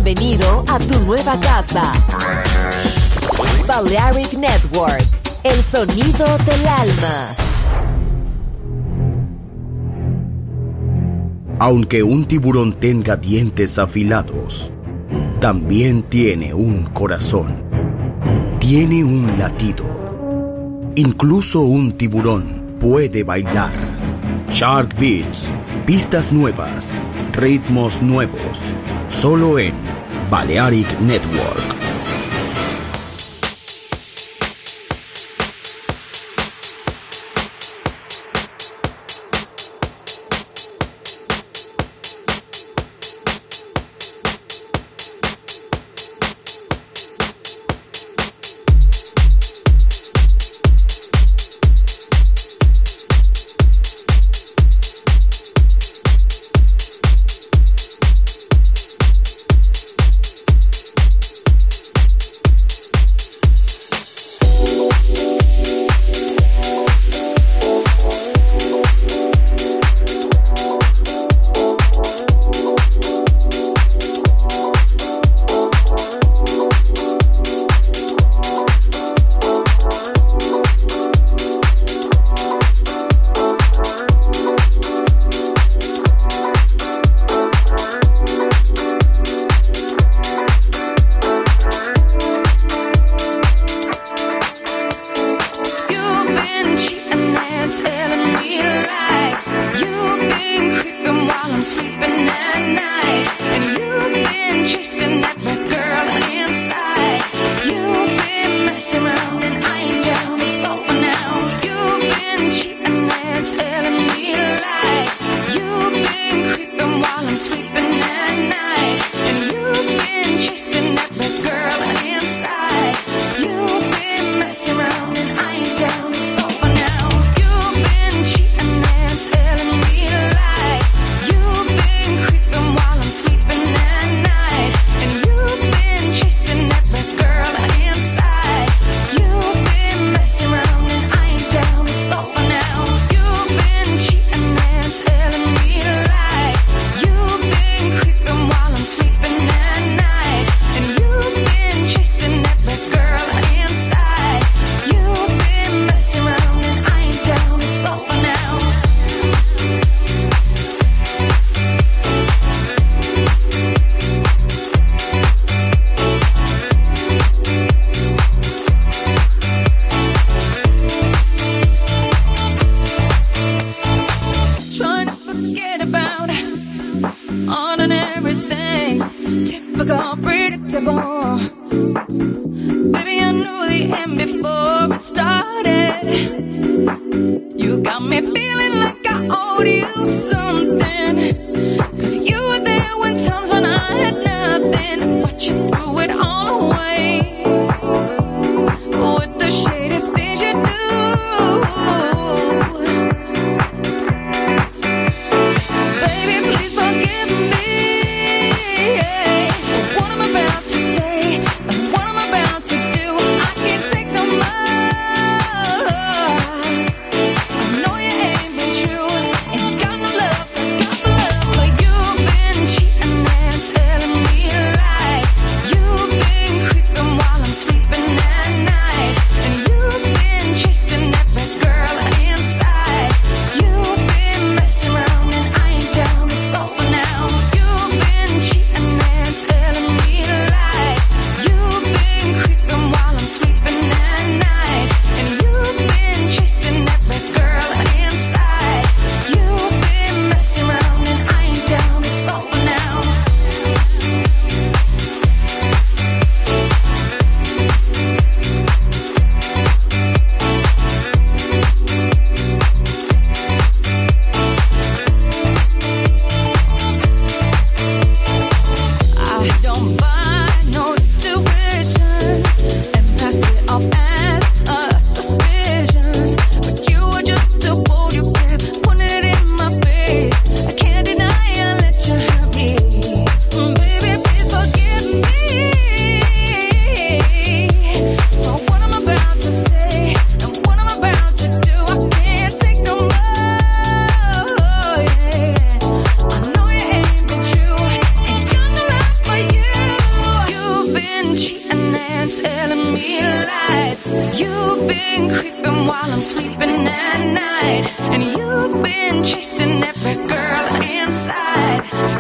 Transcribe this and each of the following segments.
Bienvenido a tu nueva casa. Balearic Network, el sonido del alma. Aunque un tiburón tenga dientes afilados, también tiene un corazón. Tiene un latido. Incluso un tiburón puede bailar. Shark Beats, pistas nuevas, ritmos nuevos, solo en Balearic Network.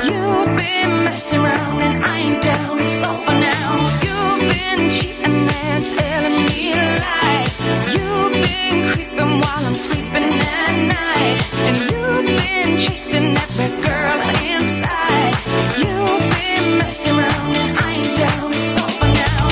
You've been messing around and I ain't down, it's over now. You've been cheating and telling me lies. You've been creeping while I'm sleeping at night. And you've been chasing every girl inside. You've been messing around and I ain't down, it's over now.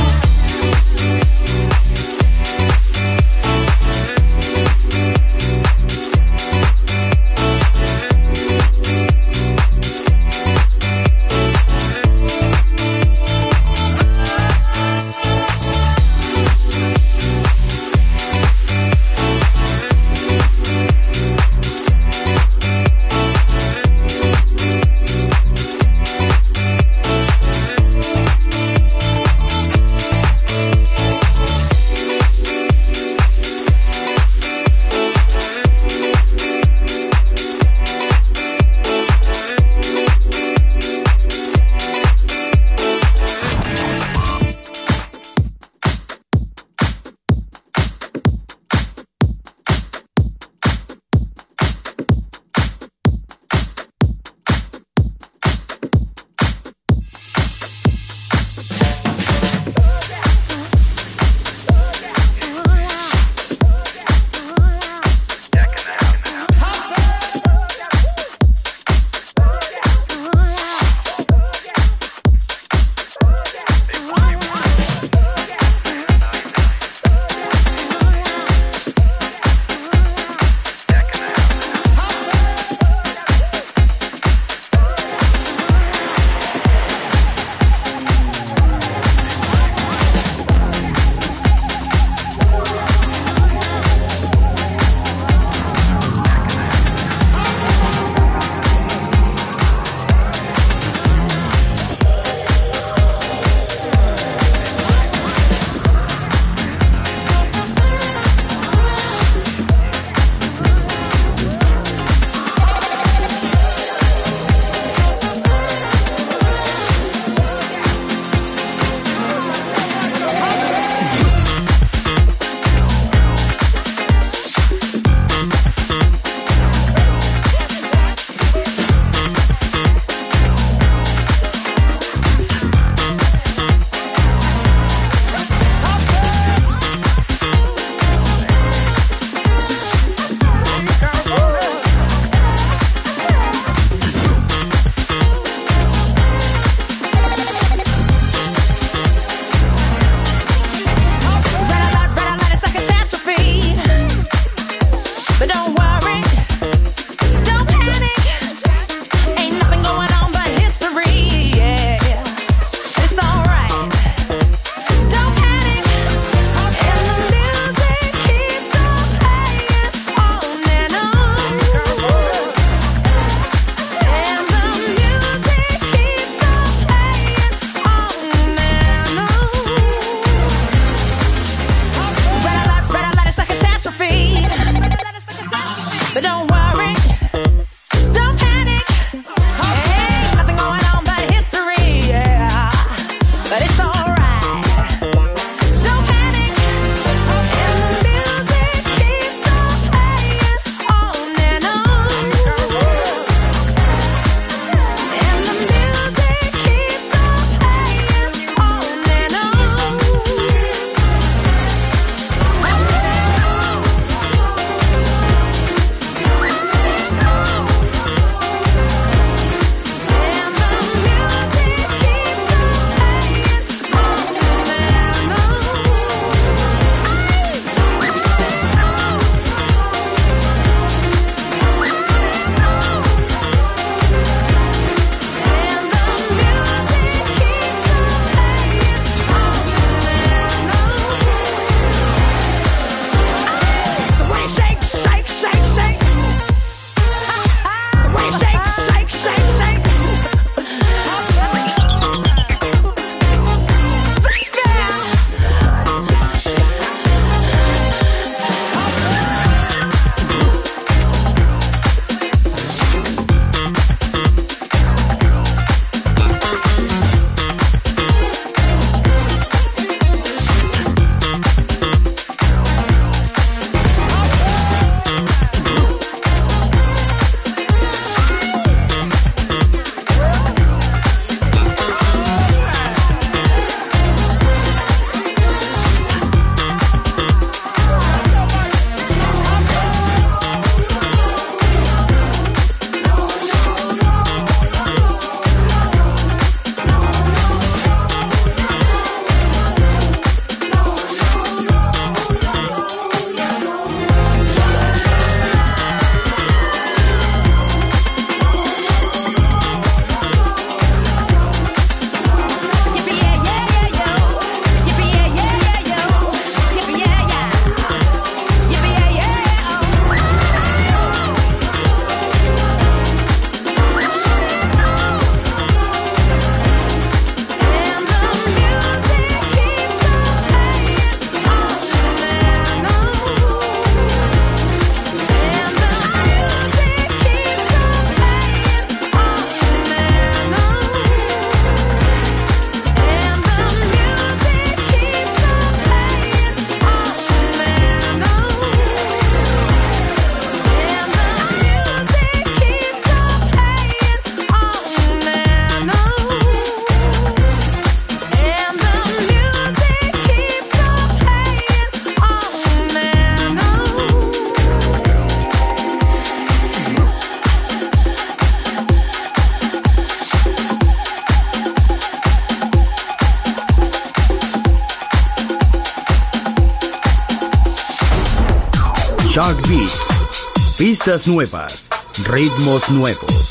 Shark Beats. Pistas nuevas, ritmos nuevos.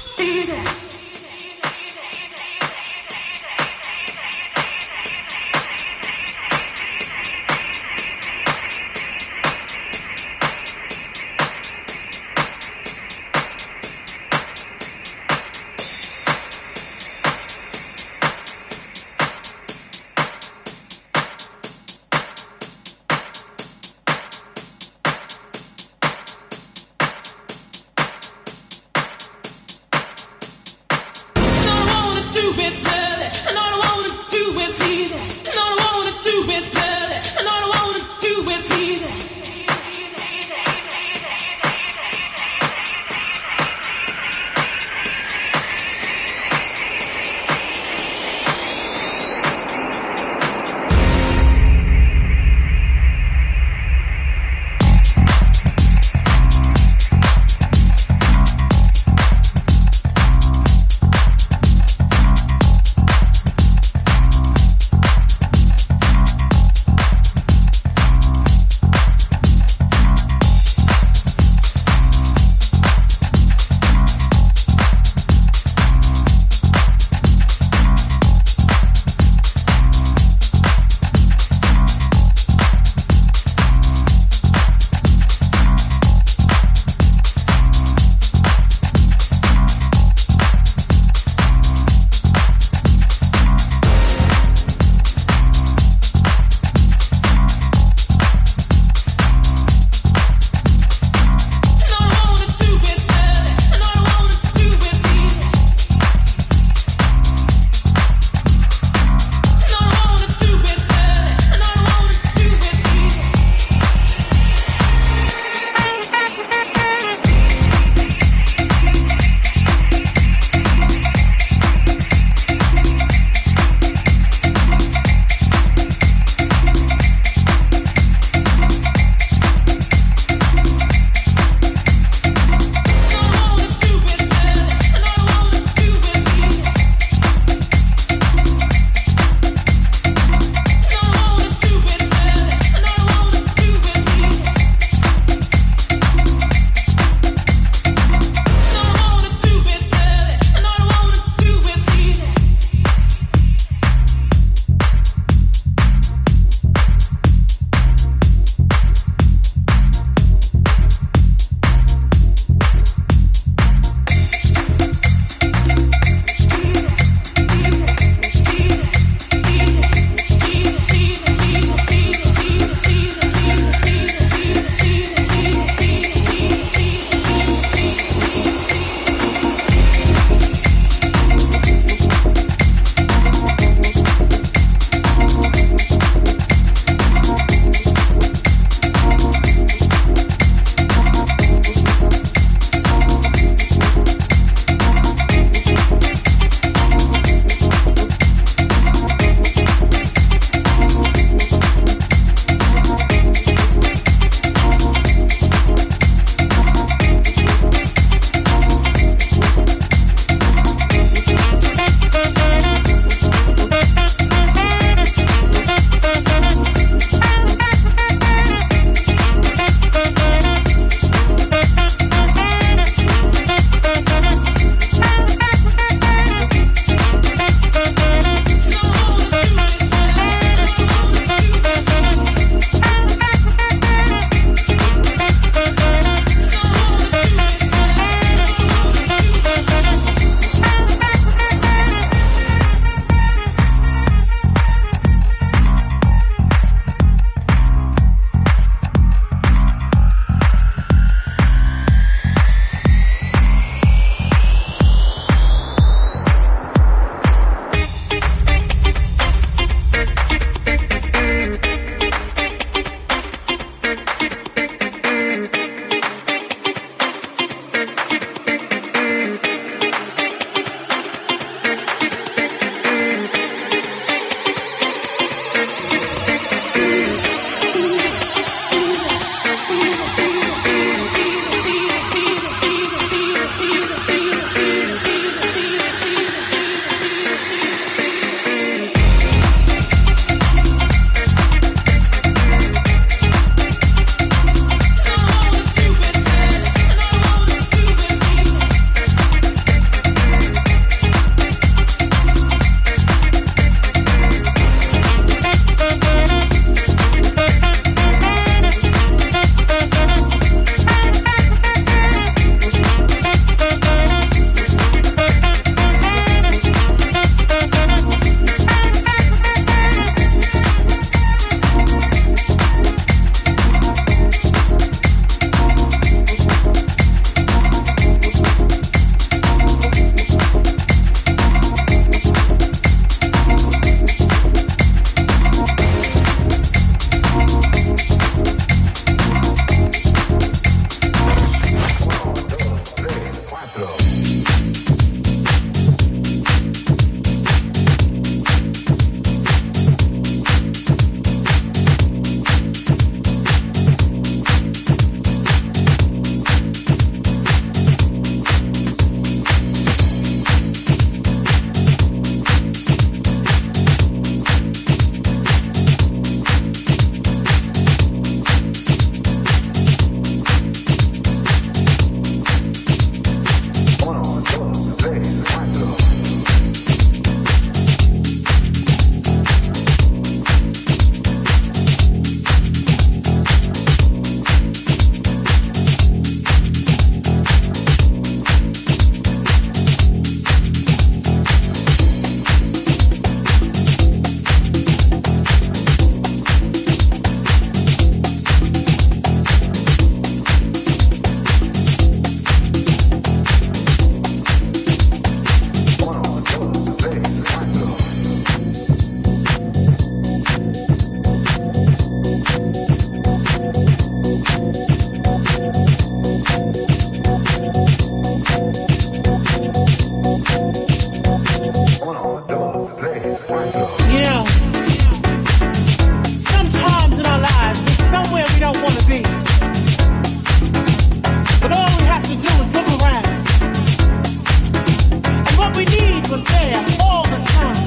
was there all the time.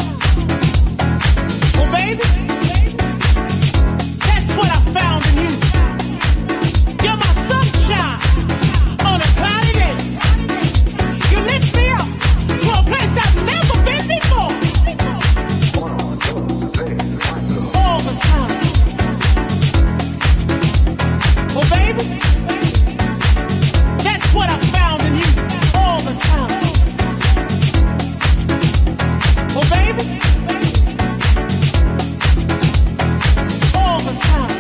Well, baby, that's what I found in you. You're my sunshine on a cloudy day. You lift me up to a place I've never been before. All the time. Well, baby, that's what I found in you all the time. Well, baby, all the time.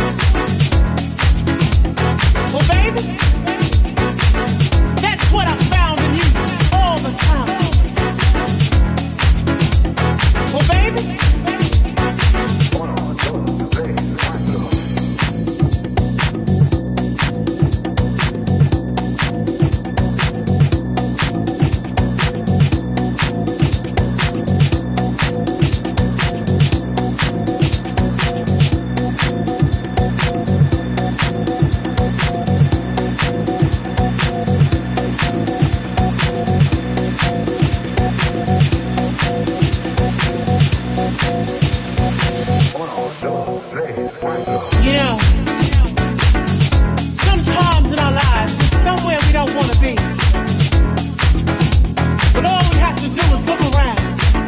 Well, baby, that's what I found in you all the time. Well, baby. You know, sometimes in our lives, we're somewhere we don't want to be. But all we have to do is look around.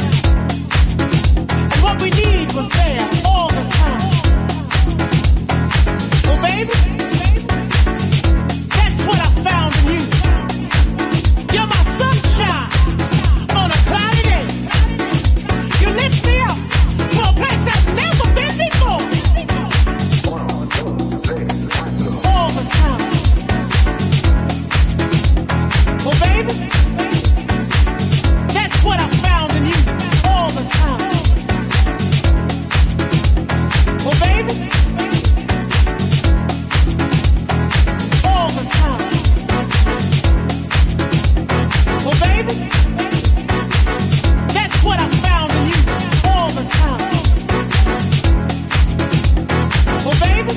And what we need was there all the time. Well, baby, that's what I found in you. You're my sunshine on a cloudy day. You lift me up to a place I've never been before. All the time. Well, baby, that's what I found in you all the time. Well, baby, all the time. Well, baby, that's what I found in you all the time. Well, baby.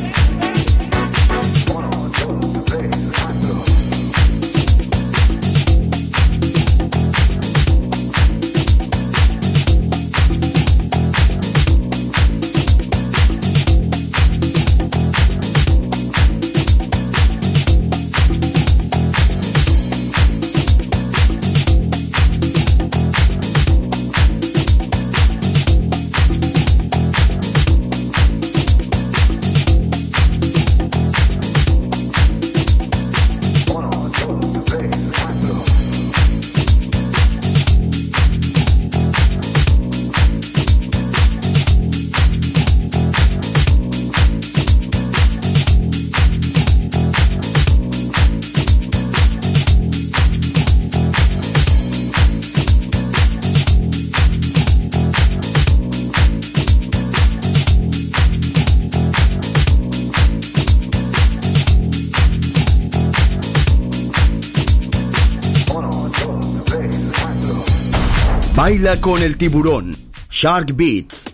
Baila con el tiburón. Shark Beats.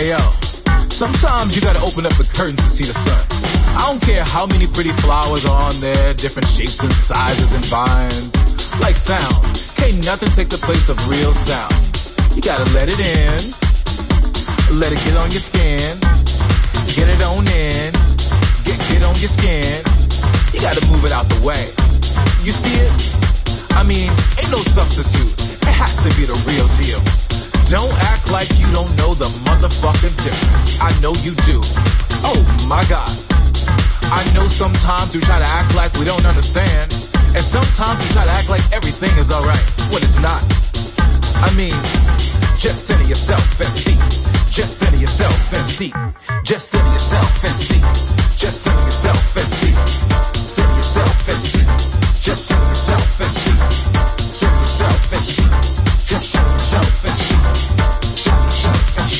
Hey yo, sometimes you gotta open up the curtains to see the sun. I don't care how many pretty flowers are on there, different shapes and sizes and vines. Like sound, can't nothing take the place of real sound. You gotta let it in, let it get on your skin, get it on in, get on your skin. You gotta move it out the way. You see it? I mean, ain't no substitute. It has to be the real deal. Don't act like you don't know the motherfucking difference. I know you do. Oh my God. I know sometimes we try to act like we don't understand, and sometimes we try to act like everything is alright when it's not. I mean, just center yourself and see. Just center yourself and see. Just center yourself and see. Just center yourself and see. Center yourself and see. Just center yourself and see. Center yourself and see. Just center yourself and see. Center yourself and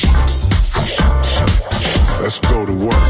see. Let's go to work.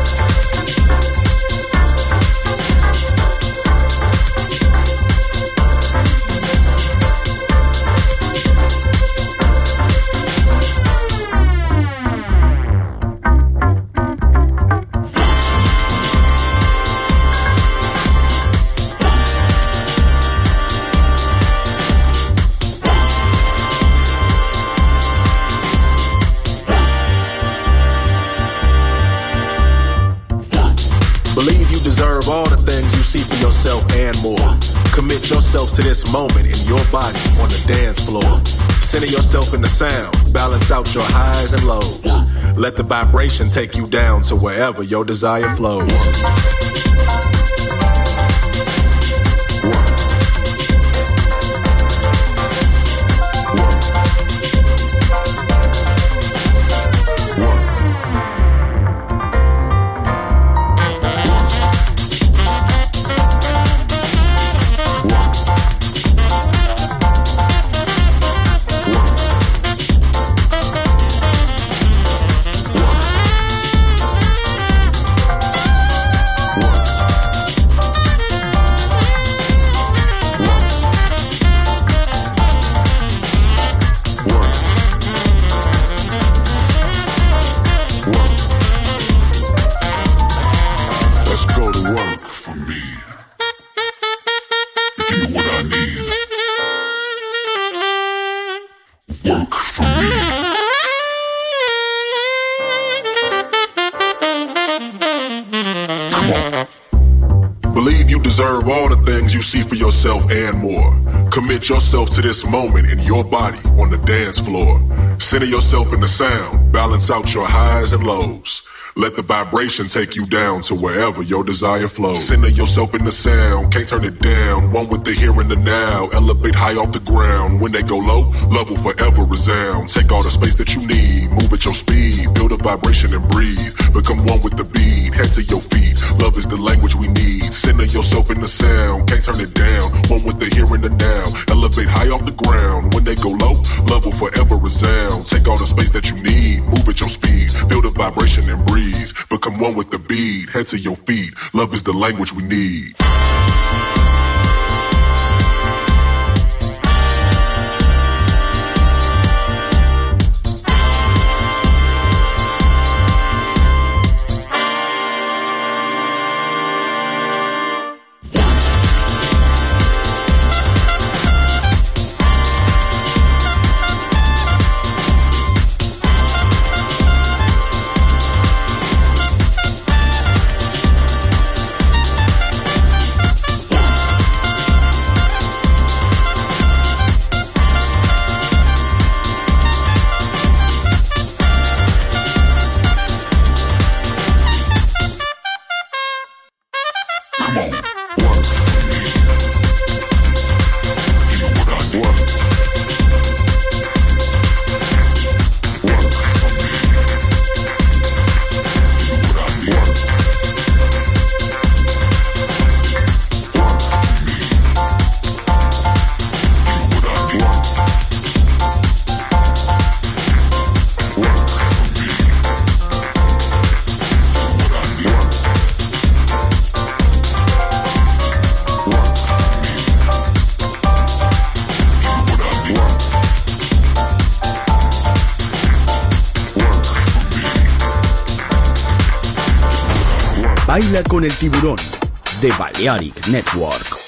Deserve all the things you see for yourself and more. Commit yourself to this moment in your body on the dance floor. Center yourself in the sound. Balance out your highs and lows. Let the vibration take you down to wherever your desire flows. You see for yourself and more. Commit yourself to this moment in your body on the dance floor. Center yourself in the sound. Balance out your highs and lows. Let the vibration take you down to wherever your desire flows. Center yourself in the sound, can't turn it down. One with the here and the now. Elevate high off the ground. When they go low, love will forever resound. Take all the space that you need, move at your speed. Build a vibration and breathe. Become one with the beat, head to your feet. Love is the language we need. Center yourself in the sound, can't turn it down. One with the here and the now. Elevate high off the ground. When they go low, love will forever resound. Take all the space that you need, move at your speed. Build a vibration and breathe. Become one with the beat, head to your feet. Love is the language we need. Baila con el Tiburón de Balearic Network.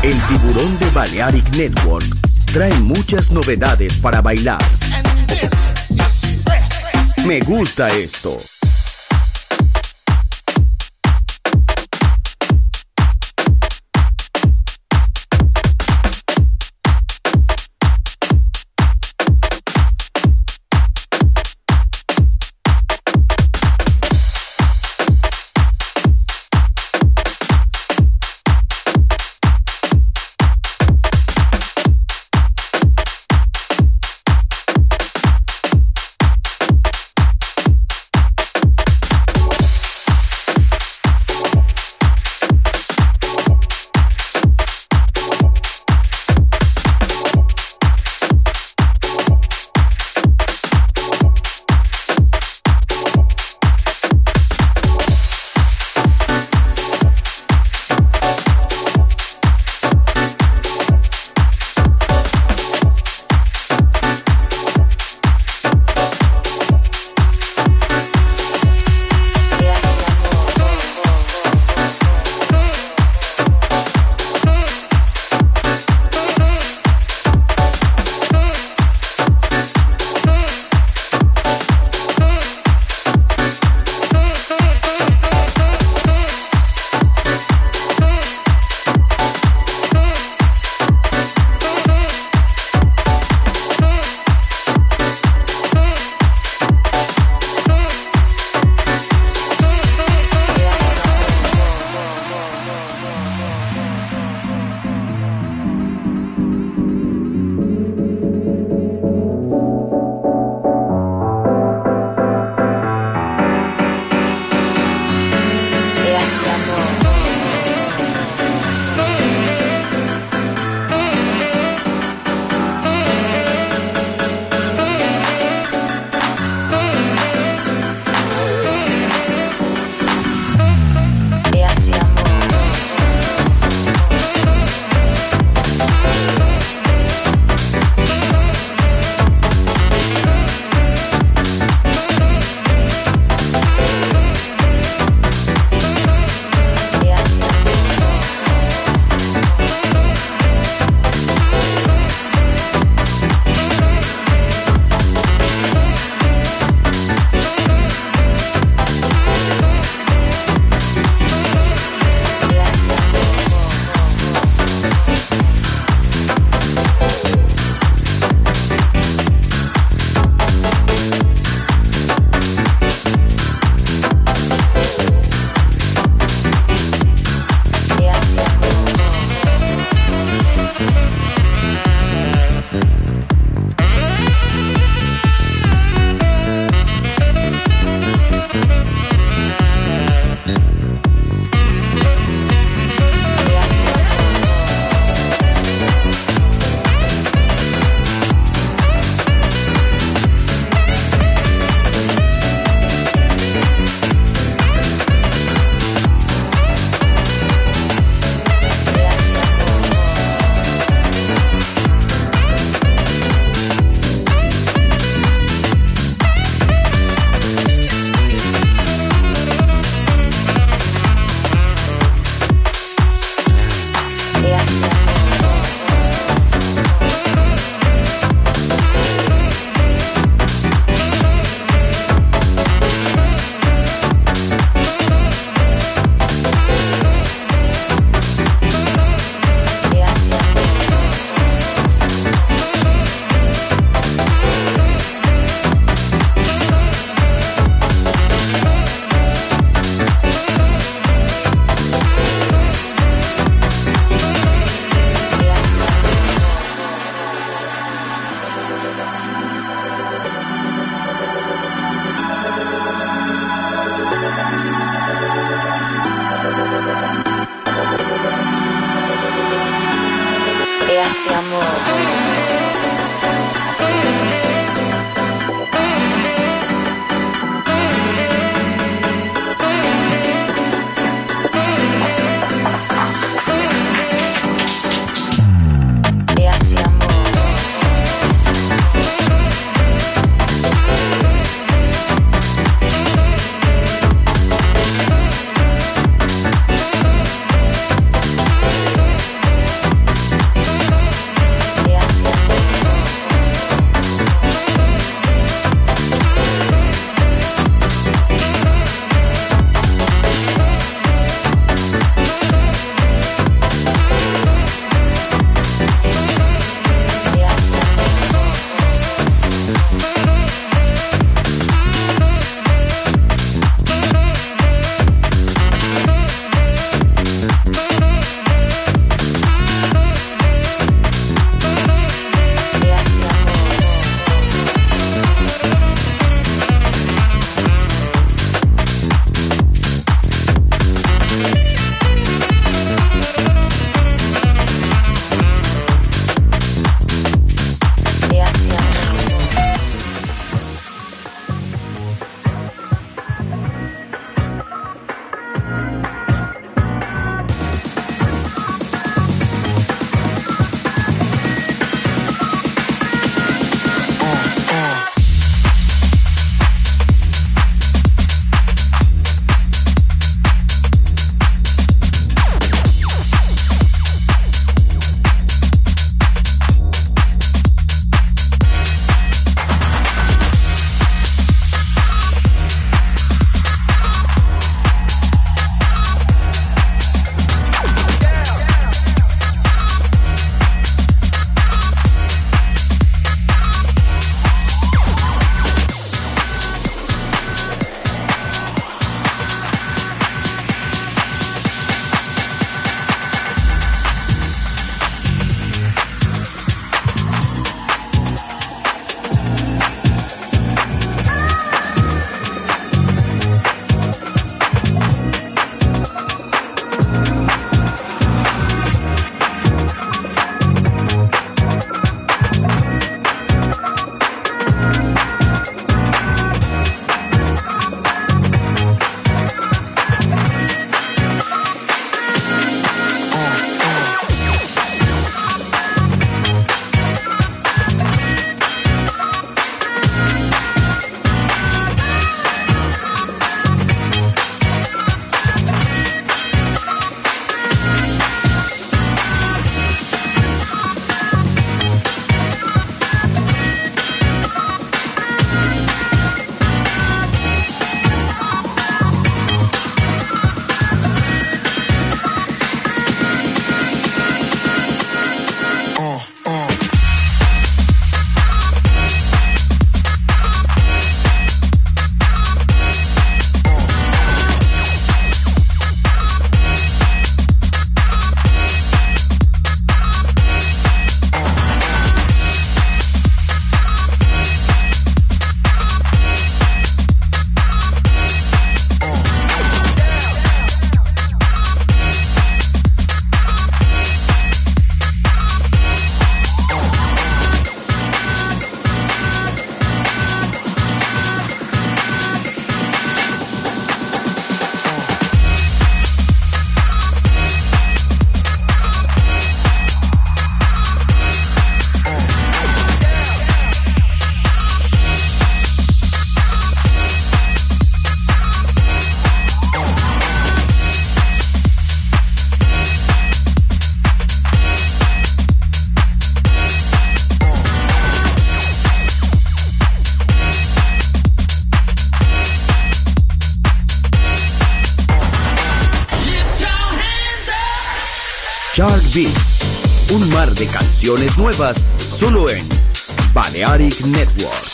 El Tiburón de Balearic Network trae muchas novedades para bailar. Me gusta esto. Grazie amore. Beats. Un mar de canciones nuevas solo en Balearic Network.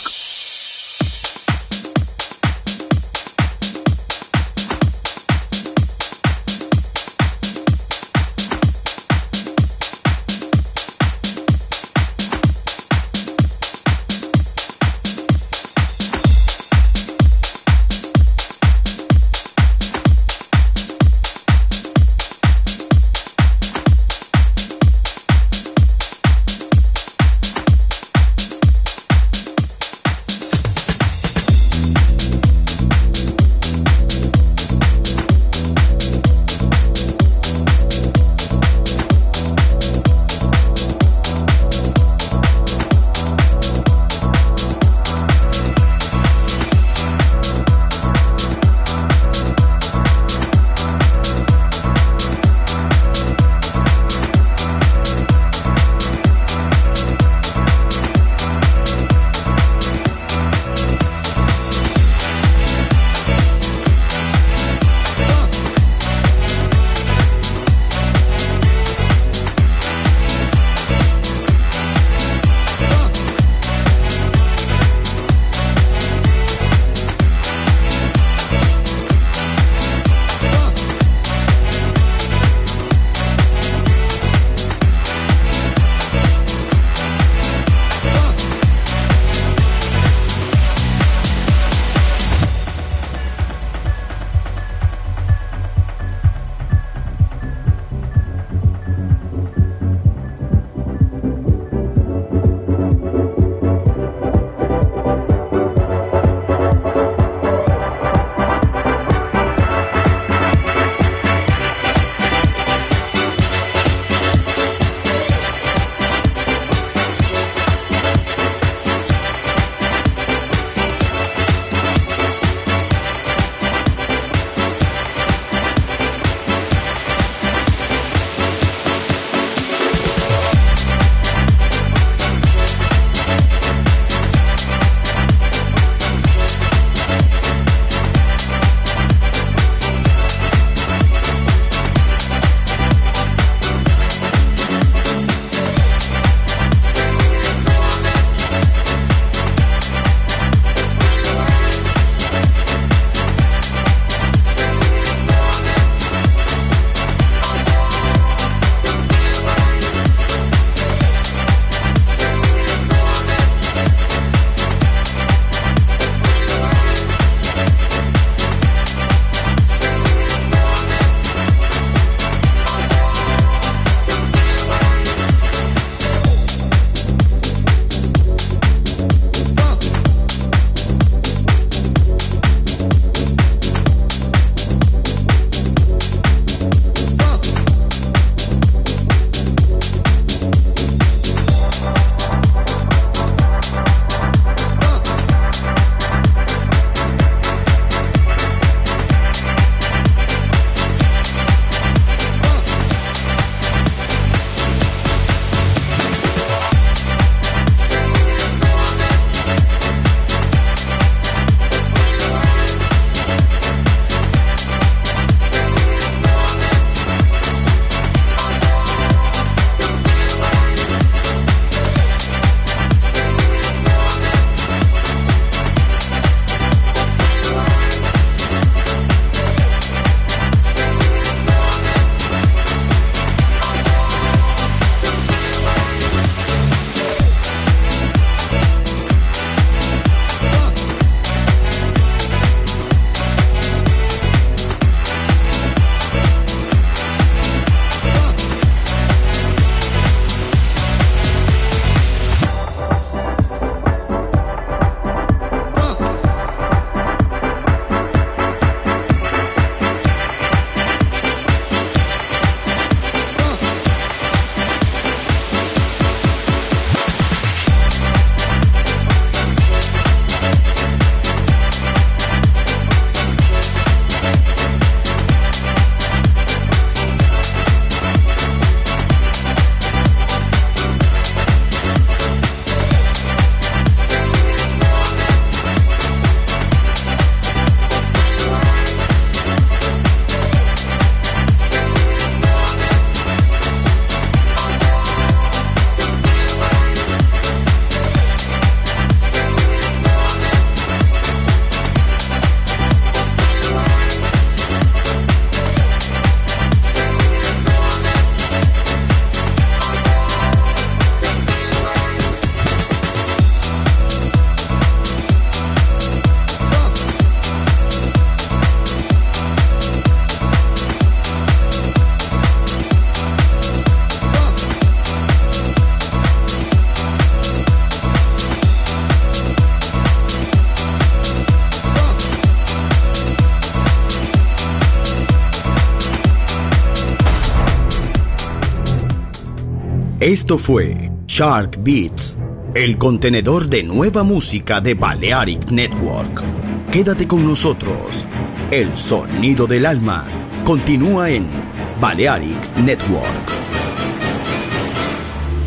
Esto fue Shark Beats, el contenedor de nueva música de Balearic Network. Quédate con nosotros. El sonido del alma continúa en Balearic Network.